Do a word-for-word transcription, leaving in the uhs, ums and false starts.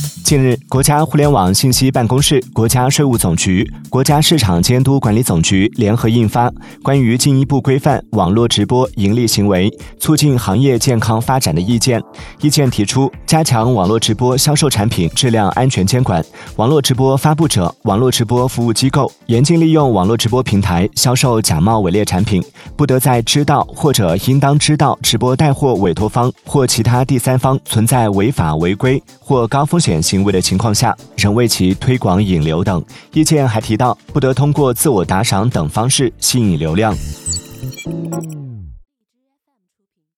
近日，国家互联网信息办公室、国家税务总局、国家市场监督管理总局联合印发《关于进一步规范网络直播盈利行为，促进行业健康发展的意见》。意见提出，加强网络直播销售产品质量安全监管，网络直播发布者、网络直播服务机构严禁利用网络直播平台销售假冒伪劣产品，不得在知道或者应当知道直播带货委托方或其他第三方存在违法违规或高风险行为的情况下，仍为其推广引流等。意见还提到，不得通过自我打赏等方式吸引流量。